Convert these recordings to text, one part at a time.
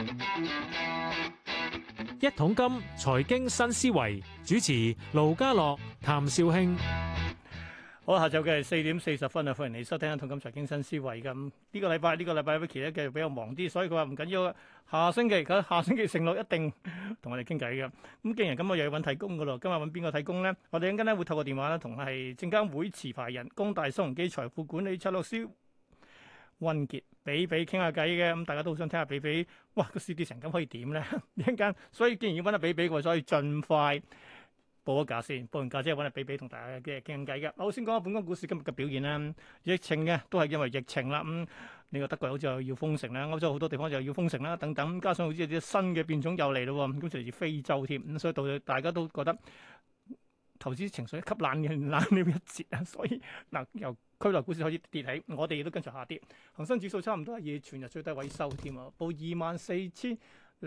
一桶金財經新思維主持盧家樂、譚紹興。 好，下晝嘅係4:40啊，歡迎你收聽一桶金財經新思維。咁呢個禮拜Vicky 咧繼續比較忙啲，所以佢話唔緊要，下星期承諾一定同我哋傾偈嘅。咁既然咁，我又要揾替工噶咯。今日揾邊個替工咧？我哋陣間咧會透過電話咧同係證監會持牌人光大新鴻基財富管理策略師溫傑比傾下偈嘅。咁大家都好想聽下比，哇個市跌成咁可以點咧？一陣間，所以既然要揾阿比嘅，所以盡快報咗價先，報完價之後揾阿比同大家嘅傾偈嘅。我先講下本港股市今日嘅表現啦。疫情嘅都係因為疫情啦。呢個德國好似又要封城啦，歐洲好多地方就要封城啦，等等。加上好似有啲新嘅變種又嚟咯，咁就嚟自非洲添。咁所以到大家都覺得投資情緒吸冷了一截啊。所以嗱，由區內股市開始跌起，我哋亦都跟隨下跌。恒生指數差唔多係以全日最低位收添啊，報24,080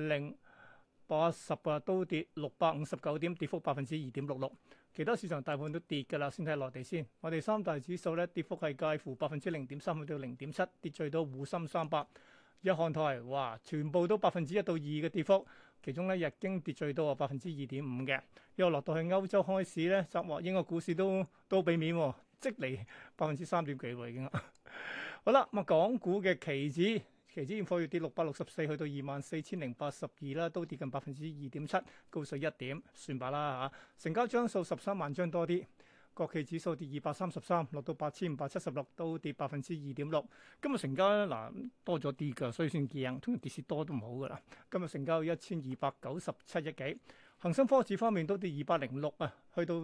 啊，都跌659點，跌幅2.66%。其他市場大部分都跌㗎啦，先睇內地先。我哋三大指數咧跌幅係介乎0.3%去到0.7%，跌最多滬深300。日韓台哇，全部都1%到2%嘅跌幅，其中咧日經跌最多啊2.5%嘅。又落到去歐洲開市咧，集獲英國股市都俾面喎，即嚟3.幾喎已經。好啦，咁啊港股嘅期指現貨月跌664，去到24,082啦，都跌近2.7%，高水1點，算吧啦嚇。成交張數13萬張多啲。國企指數跌233，落到8,576，都跌2.6%。今日成交咧多咗啲㗎，所以算驚。通常跌市多都唔好㗎啦。今日成交1,297億幾。恒生科指方面都跌206啊，去到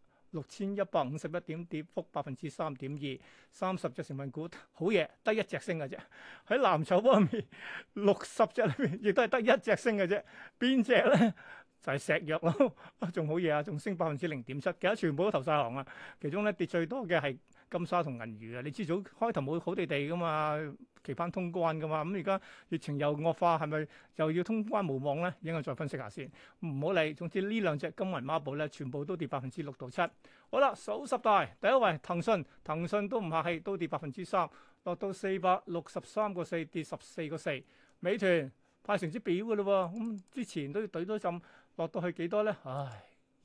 6,151點，跌幅3.2%。30隻成分股好嘢，得一隻升嘅啫。喺藍籌方面，60隻裏面亦都係得一隻升嘅啫。邊隻咧？就係石藥咯，仲好嘢啊，仲升0.7%，其他全部都投晒行啊。其中咧跌最多嘅係金沙同銀娛啊。你知早開頭冇好地噶嘛，期盼通關噶嘛。咁而家疫情又惡化，係咪又要通關無望咧？應該再分析下先，唔好理。總之呢兩隻金銀孖寶咧，全部都跌6%到7%。好啦，數十大第一位騰訊都唔客氣，都跌3%，落到463.4，跌14.4。美團派成績表嘅咯喎，咁之前都要懟多陣。落到去幾多咧？唉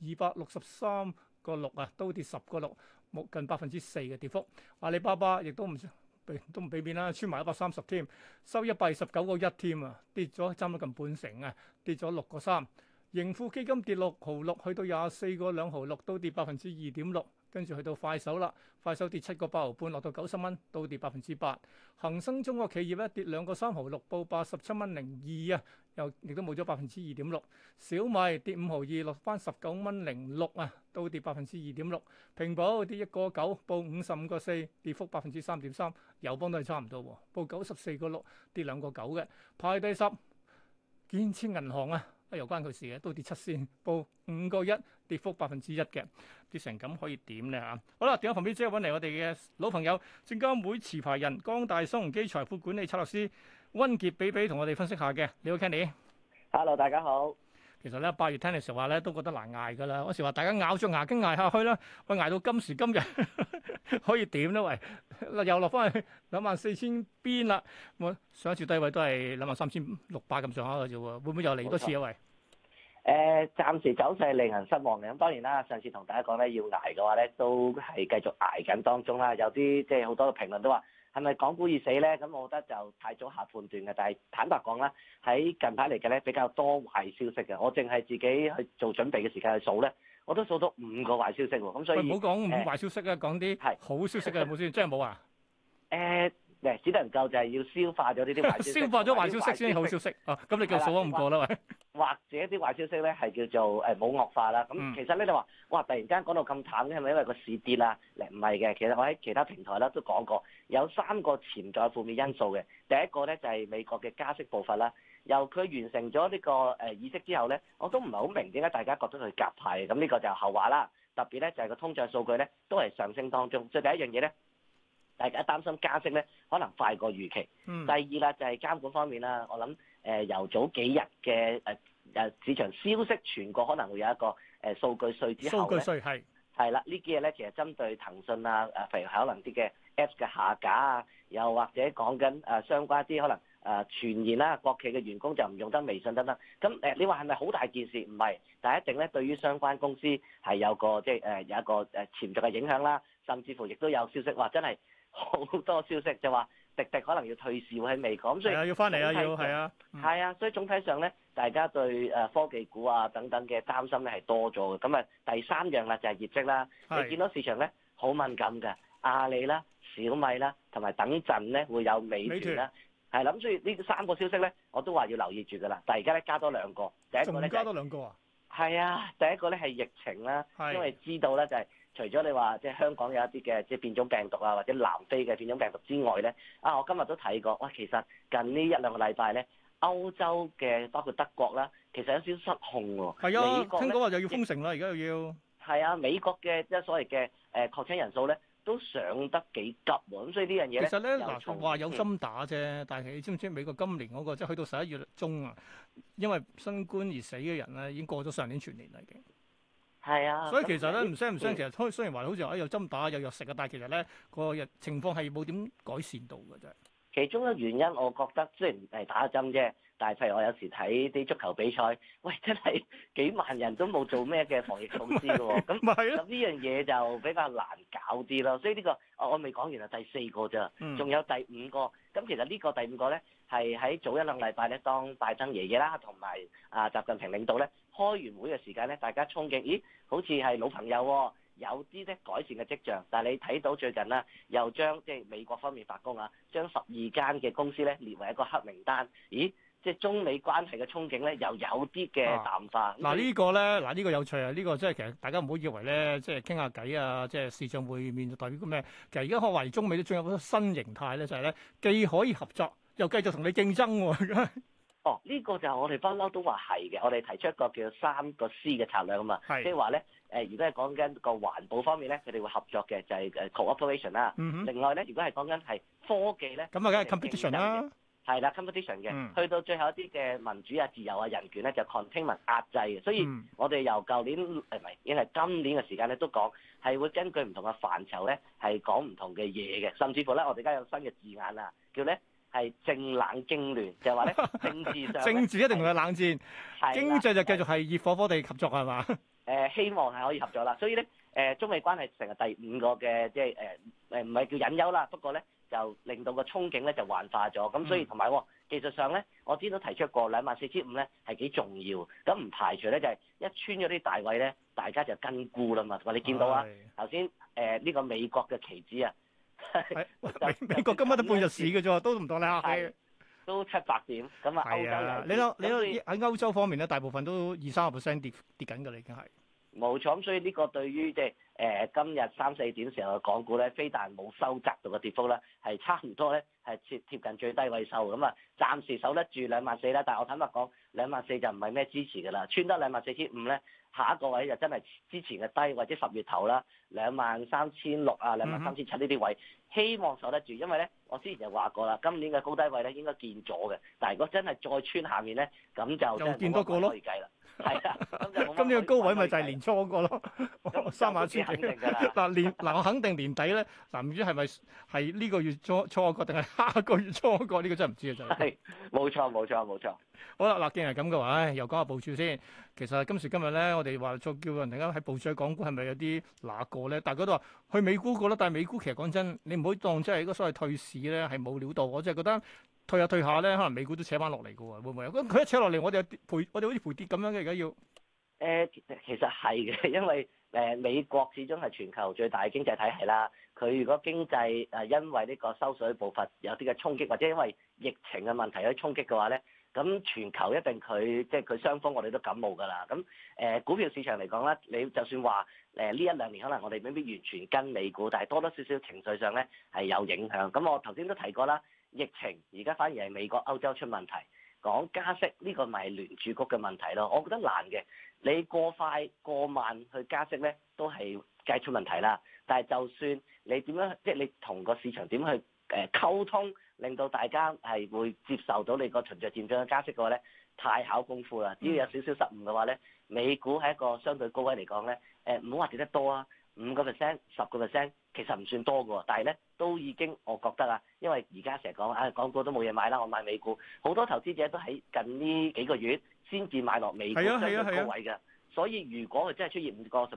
，263.6啊，都跌10.6，冇近4%嘅跌幅。阿里巴巴亦都唔俾面啦，穿埋130添，收129.1添啊，跌咗差唔多近半成啊，跌咗6.3。盈富基金跌6毫6，去到24.2毫6，都跌2.6%。跟住去到快手啦，快手跌7.8毫半，落到90蚊，都跌8%。恒生中國企業咧跌2.3毫6，報87.02啊，亦都冇咗2.6%。小米跌5毫2，落翻19.06啊，都跌2.6%。平保跌1.9，報55.4，跌幅3.3%。友邦都係差唔多喎，報94.6，跌2.9嘅。排第10，建設銀行啊。又關佢事嘅，都跌7仙，報5.1，跌幅1%嘅，跌成咁可以點咧嚇？好啦，電話旁邊即刻揾嚟我哋嘅老朋友，證監會持牌人光大新鴻基財富管理策略師溫傑比同我哋分析下嘅。你好 Kenny。Hello， 大家好。 其實咧8月聽嘅時候話咧都覺得難捱㗎啦，嗰時話大家咬著牙根捱下去啦，喂捱到今時今日可以點咧？喂，又落翻去24,000邊啦，我上一次低位都係23,600咁上下嘅啫喎，會唔會又嚟多次啊？喂， 暫時走勢令人失望嘅。咁當然啦，上次同大家講咧，要捱嘅話咧，都係繼續捱緊當中啦。有啲即係好多嘅評論都話，係咪港股已死咧？咁我覺得就太早下判斷嘅。但係坦白講啦，喺近排嚟嘅咧比較多壞消息嘅。我淨係自己去做準備嘅時間去數咧，我都數到5個壞消息喎。咁所以唔好講壞消息啊，講啲好消息啊，有冇先？真係冇啊？ 只能夠就係要消化咗呢啲壞消息， 消化咗壞消息先好消息。哦，咁你夠數咗5個啦，喂。 或者啲壞消息咧係叫做冇惡化啦。咁其實咧你話哇，突然間講到咁淡嘅係咪因為個市跌啦？唔係嘅，其實我喺其他平台咧都講過，有3個潛在負面因素嘅。第一個咧就係美國嘅加息步伐啦。由佢完成咗呢個議息之後咧，我都唔係好明點解大家覺得佢鴿派。咁呢個就後話啦。特別咧就係個通脹數據咧都係上升當中。所以第一樣嘢咧，大家擔心加息咧可能快過預期。第二啦就係監管方面啦，我諗由早幾日嘅市場消息傳過可能會有一個數據稅之後咧， 數據稅係啦，呢幾日咧其實針對騰訊啊，譬如可能啲嘅 Apps 嘅下架啊，又或者講緊相關啲可能傳言啦，國企嘅員工就唔用得微信等等。咁你話係咪好大件事？唔係，但係一定咧對於相關公司係有個即係有一個潛在嘅影響啦，甚至乎亦都有消息話真係好多消息就話滴滴可能要退市喎喺美國。咁所以要翻嚟啊，要係啊， 係啊，所以總體上咧，大家對科技股啊等等嘅擔心咧係多咗嘅。咁啊第三樣啦就係業績啦，你見到市場咧好敏感嘅，阿里啦、小米啦，同埋等陣咧會有美團啦。係啦，咁所以呢三個消息咧，我都話要留意住㗎啦。但係而家咧加多兩個，第一個咧加多兩個啊？ 係啊，第一個咧係疫情啦，因為知道咧就係除咗你話即係香港有一啲嘅即係變種病毒啊，或者南非嘅變種病毒之外咧，我今日都睇過，哇，其實近呢一兩個禮拜咧，歐洲嘅包括德國啦，其實有少少失控喎。 係啊，美國聽講話又要封城啦，而家又要。 係啊，美國嘅即係所謂嘅確診人數咧，都上得幾急喎，咁所以呢樣嘢咧， 其實咧嗱話有針打啫，但係你知唔知美國今年嗰個即係去到11月中啊，因為新冠而死嘅人咧已經過咗上年全年啦已經。 係啊， 所以其實咧唔聲，其實雖然話好似有針打有藥食啊，但係其實咧個情況係冇點改善到嘅啫。 其中嘅原因，我覺得雖然係打針啫，但係譬如我有時睇啲足球比賽，喂，真係幾萬人都冇做咩嘅防疫措施嘅喎，咁呢樣嘢就比較難搞啲咯。所以呢個我未講完啊，第四個咋，仲有第五個。咁其實呢個第五個咧係喺早一兩禮拜咧，當拜登爺爺啦同埋習近平領導咧開完會嘅時間咧，大家憧憬，咦，好似係老朋友喎。有啲咧改善嘅跡象，但係你睇到最近啦，又將即係美國方面發工啊，將12間嘅公司咧列為一個黑名單。咦，即係中美關係嘅憧憬咧，又有啲嘅淡化。 呢個咧，呢個有趣啊！呢個即係其實大家唔好以為咧，即係傾下偈啊，即係視像會面就代表咩？其實而家可懷疑中美都進入咗新形態咧，就係咧既可以合作，又繼續同你競爭喎。 呢個就我哋不嬲都話係嘅，我哋提出一個叫3個 C 嘅策略啊嘛，即係話咧如果係講緊個環保方面咧，佢哋會合作嘅就係cooperation 啦。另外咧，如果係講緊係科技咧， 咁啊梗係 competition 啦。 係啦 competition 嘅，去到最後一啲嘅民主啊、自由啊、人權咧就 containment 壓制嘅。所以我哋由舊年唔係已經係今年嘅時間咧都講係會根據唔同嘅範疇咧係講唔同嘅嘢嘅，甚至乎咧我哋而家有新嘅字眼啊，叫咧係政冷經聯，就係話咧政治上政治一定會有冷戰，經濟就繼續係熱火火地合作係嘛？ 希望係可以合作啦。所以咧中美關係成日第五個嘅即係唔係叫隱憂啦，不過咧就令到個憧憬咧就幻化咗。咁所以同埋技術上咧，我之前都提出過24,500咧係幾重要。咁唔排除咧就係一穿咗啲大位咧，大家就跟沽啦嘛。同埋你見到啊頭先呢個美國嘅期指啊。 美國今日都半日市嘅啫，都唔當你客氣， 都700點咁啊！歐洲你睇喺歐洲方面咧，大部分都2-3% 跌緊㗎啦，已經係冇錯。咁所以呢個對於即係今日3-4點時候嘅港股咧，非但冇收窄到嘅跌幅咧，係差唔多咧係貼近最低位收咁啊！暫時守得住24,000啦，但係我坦白講，24,000就唔係咩支持㗎啦，穿得24,500咧。下一個位就真係之前嘅低，或者10月頭啦，23,600啊，23,700呢啲位，希望守得住。因為咧，我之前就話過啦，今年嘅高低位咧應該見咗嘅，但係如果真係再穿下面咧，咁就又見多個咯， 可以計啦。係啊， 咁呢個高位咪就係年初嗰個咯，3萬千幾。嗱我肯定年底咧，唔知係咪係呢個月初個定係下個月初個？呢個真係唔知啊！真係。 冇錯。 好啦，既然係咁嘅話，又講下部署先。其實今時今日咧，我哋話再叫人哋喺部署喺港股，係咪有啲哪個咧？大家都話去美股個啦，但係美股其實講真，你唔好當真係一個所謂退市咧，係冇料到。我真係覺得退下咧，可能美股都扯翻落嚟嘅喎，會唔會？咁佢一扯落嚟，我哋好似賠跌咁樣嘅，而家要。 其實係嘅，因為美國始終係全球最大嘅經濟體系啦。佢如果經濟因為呢個收水步伐有啲嘅衝擊，或者因為疫情嘅問題有啲衝擊嘅話咧，咁全球一定即係佢傷風，我哋都感冒㗎啦。咁股票市場嚟講咧，你就算話呢一兩年可能我哋未必完全跟美股，但係多多少少情緒上咧係有影響。咁我頭先都提過啦，疫情而家反而係美國、歐洲出問題。講加息呢個咪聯儲局嘅問題咯，我覺得難嘅。你過快過慢去加息咧，都係計出問題啦。但係就算你點樣，即係你同個市場點去溝通，令到大家係會接受到你個循序漸進嘅加息嘅話咧，太考功夫啦。只要有少少失誤嘅話咧，美股喺一個相對高位嚟講咧，唔好話跌得多啊， 5%、10%，其實唔算多嘅喎，但係咧都已經我覺得啊，因為而家成日講啊，港股都冇嘢買啦，我買美股，好多投資者都喺近呢幾個月先至買落美股相對高位嘅，所以如果佢真係出現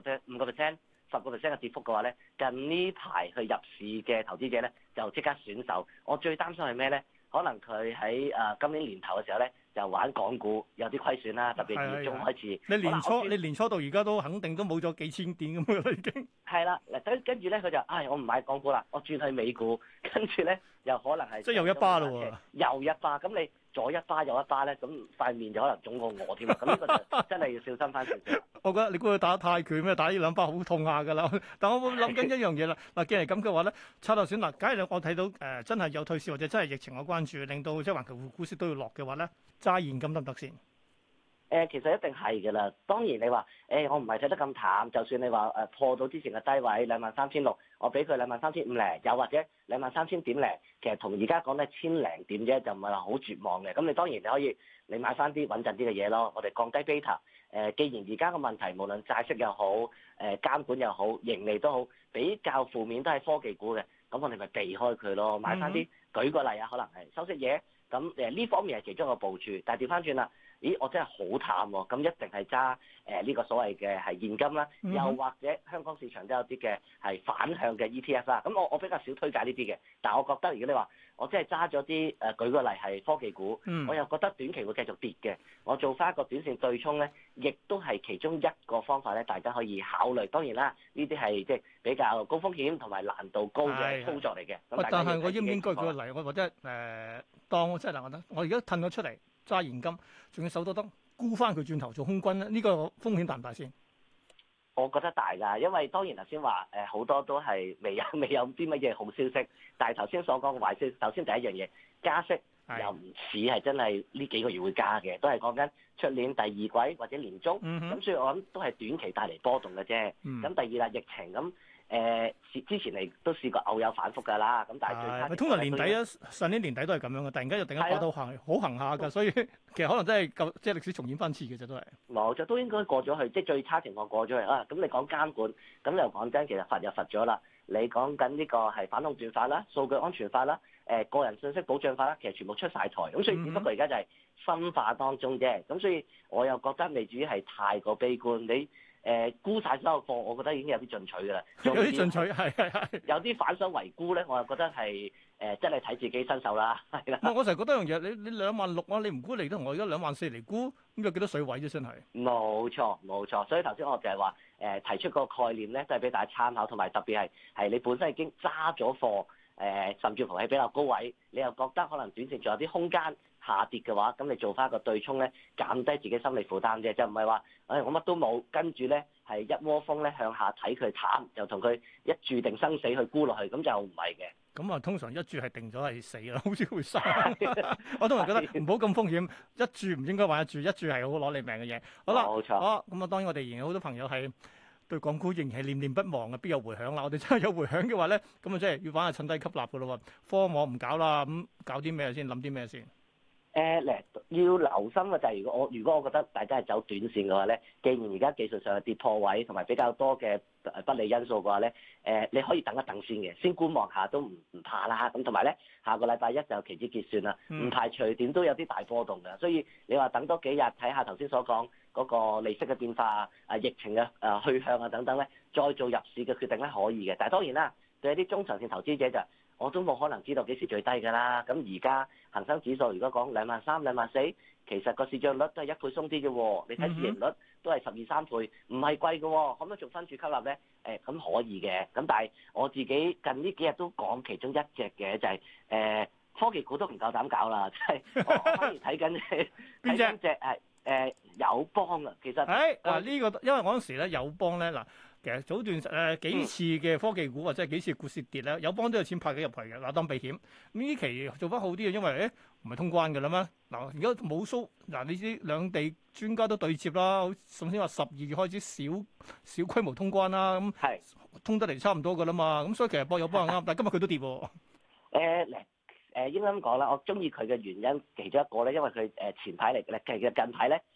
5%、10% 嘅跌幅嘅話咧，近呢排去入市嘅投資者咧就即刻選手。我最擔心係咩咧？可能佢喺今年年頭嘅時候咧，就玩港股有啲虧損啦，特別年中開始。 你年初到而家都肯定都冇咗幾千點咁嘅啦，已經。 係啦，嗱跟住咧佢就我唔買港股啦，我轉去美股，跟住咧又可能係即係又一巴咯喎， 又一巴，咁你左一巴右一巴咧，咁塊面就可能腫過我添啊！咁呢個就真係要小心翻少少。 我覺得你估佢打泰拳咩？打呢兩巴好痛下㗎啦。但我會諗緊一樣嘢啦。嗱，既然係咁嘅話咧，策略選嗱，假如我睇到真係有退市或者真係疫情嘅關注，令到即係環球股市都要落嘅話咧，揸現金得唔得先？ 其實一定係㗎啦。當然你話我唔係睇得咁淡，就算你話破到之前嘅低位23,600，我俾佢23,500，又或者23,000點零，其實同而家講咧千零點啫，就唔係話好絕望嘅。咁你當然你可以你買翻啲穩陣啲嘅嘢咯。我哋降低 beta。既然而家嘅問題無論債息又好，監管又好，盈利都好，比較負面都係科技股嘅，咁我哋咪避開佢咯，買翻啲。舉個例啊，可能係收息嘢，咁呢方面係其中一個部署。但係調翻轉啦，咦，我真係好淡喎，咁一定係揸呢個所謂嘅係現金啦，又或者香港市場都有啲嘅係反向嘅 ETF 啦。咁我比較少推介呢啲嘅，但係我覺得如果你話我真係揸咗啲舉個例係科技股，我又覺得短期會繼續跌嘅，我做翻一個短線對沖咧，亦都係其中一個方法咧，大家可以考慮。當然啦，呢啲係即係比較高風險同埋難度高嘅操作嚟嘅。 但係我應唔應該舉個例？我或者當即係嗱，我而家褪咗出嚟揸現金，仲要手多得沽翻佢轉頭做空軍咧，呢個風險大唔大先？ 我覺得大㗎，因為當然頭先話好多都係未有啲乜嘢好消息，但係頭先所講嘅壞消息，首先第一樣嘢加息又唔似係真係呢幾個月會加嘅，都係講緊出年第二季或者年中，咁所以我諗都係短期帶嚟波動嘅啫。咁第二啦，疫情咁。之前嚟都試過偶有反覆㗎啦，咁但係最差通常年底啊，上年年底都係咁樣嘅，突然間又突然間爆到好行下㗎，所以其實可能真係即係歷史重演翻次嘅啫，都係。 冇錯，都應該過咗去，即係最差情況過咗去啊！咁你講監管，咁又講真，其實罰又罰咗啦。你講緊呢個係反壟斷法啦、數據安全法啦、個人信息保障法啦，其實全部出晒台，咁所以只不過而家就係分化當中啫。咁所以我又覺得未至於係太過悲觀，你。沽晒所有貨，我覺得已經有啲進取㗎啦。 有啲進取，係。 有啲反手為沽咧，我又覺得係真係睇自己身手啦，係啦。 我成日覺得一樣嘢，你26,000啊，你唔沽嚟得，我而家24,000嚟沽，咁有幾多水位啫？真係。冇錯，所以頭先我就係話提出個概念咧，都係俾大家參考，同埋特別係你本身已經揸咗貨，甚至乎係比較高位，你又覺得可能短線仲有啲空間下跌嘅話，咁你做翻個對沖咧，減低自己心理負擔啫，就唔係話，我乜都冇，跟住咧係一窩蜂咧向下睇佢淡，就同佢一注定生死去沽落去，咁就唔係嘅。 咁啊，通常一注係定咗係死啦，好似會生。我通常覺得唔好咁風險，一注唔應該玩一注係好攞你命嘅嘢。好啦， 冇錯。 好咁啊，當然我哋仍然有好多朋友係對港股仍然係念念不忘嘅，必有回響啦。我哋真係有回響嘅話咧，咁啊即係要玩下趁低吸納嘅咯喎。科網唔搞啦，咁搞啲咩先？諗啲咩先？ 要留心嘅就係如果我覺得大家係走短線嘅話咧，既然而家技術上係跌破位同埋比較多嘅不利因素嘅話咧，你可以等一等先嘅，先觀望下都唔怕啦。咁同埋咧，下個禮拜一就期指結算啦，唔排除點都有啲大波動嘅，所以你話等多幾日睇下頭先所講嗰個利息嘅變化疫情嘅去向啊等等咧，再做入市嘅決定咧可以嘅。但係當然啦，對一啲中長線投資者就我都冇可能知道幾時最低㗎啦。咁而家恒生指數如果講23,000、24,000，其實個市漲率都係1倍鬆啲啫喎。你睇市盈率都係12、13倍，唔係貴嘅喎。可唔可以做分注吸納咧？咁可以嘅。咁但係我自己近呢幾日都講其中一隻嘅就係科技股都唔夠膽搞啦，即係我反而睇緊邊隻係友邦啊。其實呢個因為嗰陣時咧友邦咧嗱。其實早段幾次嘅科技股或者係幾次股市跌咧，友邦都有錢派幾入去嘅，嗱當避險。咁呢期做翻好啲嘅，因為唔係通關嘅啦咩？嗱而家冇蘇，嗱你知兩地專家都對接啦，首先話12月開始小規模通關啦，咁通得嚟差唔多嘅啦嘛。咁所以其實博友邦係啱，但係今日佢都跌喎。 應該咁講啦，我中意佢嘅原因其中一個咧，因為佢前排嚟嘅，其實近排咧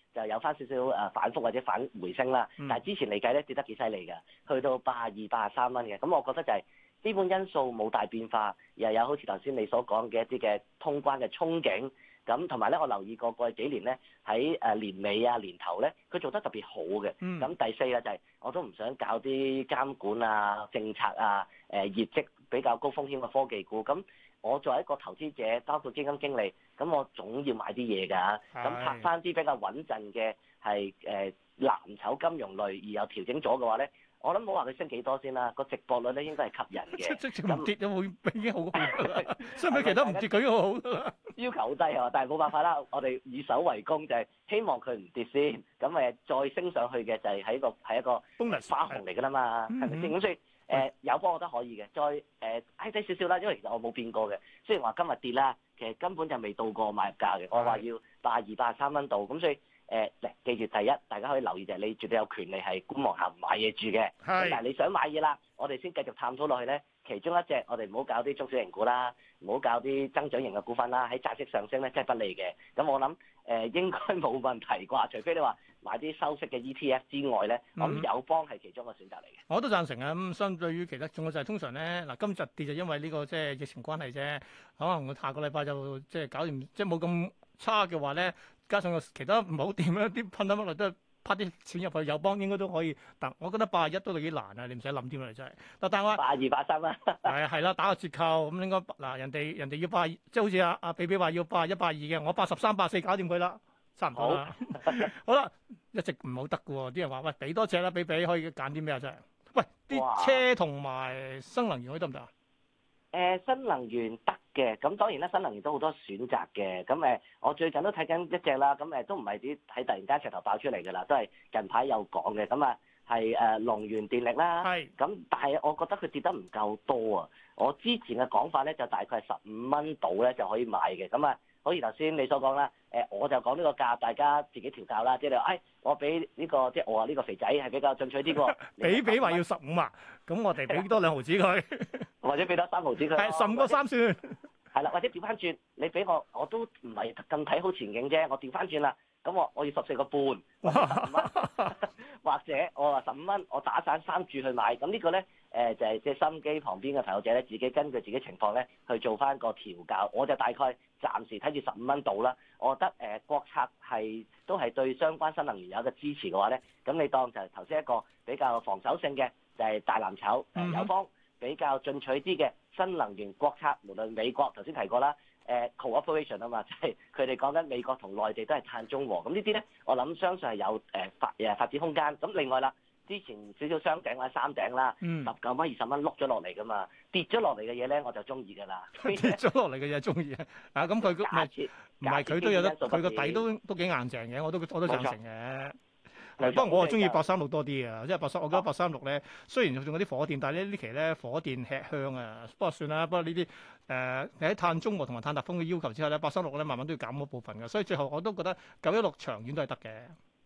就有翻少少反覆或者反回升啦。但係之前嚟計咧跌得幾犀利㗎，去到82、83蚊嘅。咁我覺得就係基本因素冇大變化，又有好似頭先你所講嘅一啲嘅通關嘅憧憬。咁同埋咧，我留意過過去幾年咧，喺年尾啊年頭咧，佢做得特別好嘅。咁第四咧就係我都唔想搞啲監管啊、政策啊、業績比較高風險嘅科技股。咁我作為一個投資者，包括基金經理，咁我總要買啲嘢㗎。咁拍翻啲比較穩陣嘅係藍籌金融類，而又調整咗嘅話咧。我諗冇話佢升幾多先啦，個直播率咧應該係吸引嘅。 即係唔跌都會已經好好㗎啦，相比其他唔跌佢已經好好㗎啦。 要求好低啊，但係冇辦法啦，我哋以守為攻，就係希望佢唔跌先，咁再升上去嘅就係一個花紅嚟㗎啦嘛，係咪先？咁所以友邦我覺得可以嘅，再挨低少少啦，因為其實我冇變過嘅。雖然話今日跌啦，其實根本就未到過買入價嘅，我話要82、83蚊度，咁所以。記住第一，大家可以留意就係你絕對有權利係觀望下唔買嘢住嘅。但係你想買嘢啦，我哋先繼續探討落去咧。其中一隻我哋唔好搞啲中小型股啦，唔好搞啲增長型嘅股份啦。喺債息上升咧，真係不利嘅。咁我諗應該冇問題啩，除非你話買啲收息嘅 ETF 之外咧，我諗友邦係其中一個選擇嚟嘅。 我都贊成啊！咁相對於其他，仲有就係通常咧，嗱今日跌就因為呢個即係疫情關係啫。可能我下個禮拜就即係搞掂，即係冇咁差嘅話咧。加上個其他唔好掂咧，啲噴得乜嚟都係拍啲錢入去友邦應該都可以。但我覺得81都幾難啊，你唔使諗添啦，真係。但係我 82、83啦。 係啦，打個折扣咁應該嗱，人哋要82，即係好似阿比比話要81、82嘅，我83、84搞掂佢啦，差唔多啦。好啦，一直唔好得嘅喎，啲人話喂俾多隻啦，比比可以揀啲咩啊？真係。喂，啲車同埋新能源可以得唔得啊？ 新能源得嘅，咁當然啦，新能源都好多選擇嘅。咁我最近都睇緊一隻啦，咁都唔係啲喺突然間石頭爆出嚟㗎啦，都係近排有講嘅。咁係龍源電力啦。係。咁但係我覺得佢跌得唔夠多啊。我之前嘅講法咧就大概係15蚊到咧就可以買嘅。咁好似頭先你所講啦，我就講呢個價，大家自己調教啦。即係你話，我俾呢個即係我話呢個肥仔係比較進取啲喎。 比話要15啊，咁我哋俾多2毫子佢， 或者俾多3毫子佢。係 15個3算。 係啦，或者調翻轉，你俾我都唔係咁睇好前景啫。我調翻轉啦，咁我要14個半，或者我話15蚊，我打散3注去買。咁呢個咧就係即係心機旁邊嘅朋友仔咧，自己根據自己情況咧去做翻個調教。我就大概暫時睇住15蚊到啦。我覺得國策都係對相關新能源有一個支持嘅話咧，咁你當就係頭先一個比較防守性嘅就係大藍籌友邦。比較進取啲嘅新能源國策，無論美國頭先提過啦，cooperation 啊嘛，即係佢哋講緊美國同內地都係碳中和，咁呢啲咧，我諗相信係有發展空間。咁另外啦，之前少少雙頂或者三頂啦，19蚊、20蚊碌咗落嚟噶嘛，跌咗落嚟嘅嘢咧我就中意㗎啦。 跌咗落嚟嘅嘢中意啊！咁佢唔係佢都有得，佢個底都幾硬淨嘅，我都贊成嘅。不過我係中意836多啲嘅，即係我覺得836咧，雖然仲有啲火電，但係呢期咧火電吃香啊。不過算啦，不過呢啲你喺碳中和同埋碳達峰嘅要求之下咧，836咧慢慢都要減嗰部分嘅，所以最後我都覺得916長遠都係得嘅。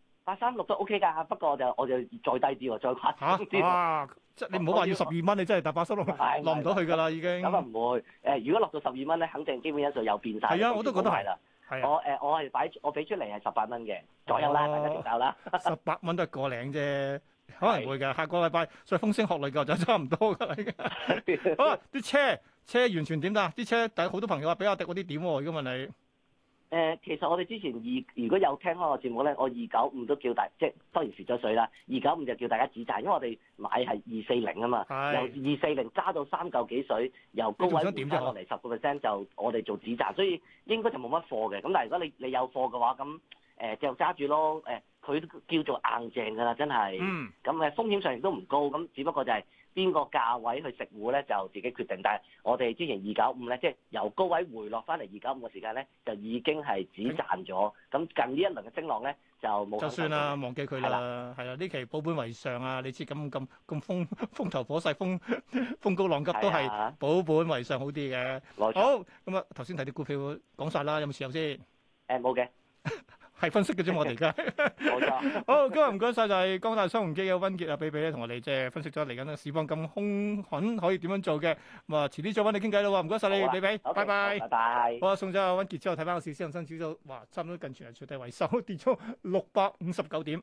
836都 OK 㗎，不過我就再低啲喎，再誇張啲。 即係你唔好話要12蚊，你真係搭836落唔到去㗎啦，已經。 咁唔會如果落到12蚊咧，肯定基本因素有變晒。 係啊，我都覺得係啦。 我俾出嚟係18蚊嘅左右啦，大家調教啦。 18蚊都係個零啫，可能會嘅。下個禮拜再風聲鶴唳嘅就差唔多㗎啦，已經。好啦，啲車完全點㗎？啲車但係好多朋友話比亞迪嗰啲點喎？如果問你。 其實我哋之前如果有聽開個節目咧，我295都叫即係當然蝕咗水啦。295就叫大家止賺，因為我哋買係240啊嘛，由240揸到3嚿幾水，由高位回翻落嚟10%就我哋做止賺，所以應該就冇乜貨嘅。咁但係如果你有貨嘅話，咁就揸住咯。佢都叫做硬淨㗎啦，真係。咁風險上亦都唔高，咁只不過就係邊個價位去食糊咧，就自己決定。但係我哋之前295咧，即係由高位回落翻嚟295嘅時間咧，就已經係止賺咗。咁近呢一輪嘅升浪咧，就冇。就算啦， 忘記佢啦。係啦，呢期保本為上啊！你知咁風頭火勢，風高浪急都係保本為上好啲嘅。好，咁啊頭先睇啲股票講晒啦，有冇持有先？ 冇嘅。 係分析嘅啫，我哋而家。 冇錯。 好，今日唔該晒，就係光大新鴻基嘅温傑啊，比比咧同我哋即係分析咗嚟緊嘅市況咁兇狠可以點樣做嘅。咁啊，遲啲再揾你傾偈啦喎，唔該晒你，比比，拜拜。 拜拜。 好啊，送咗阿温傑之後，睇翻個市，恒生指數，哇，差唔多近全日最低位收，跌咗659點。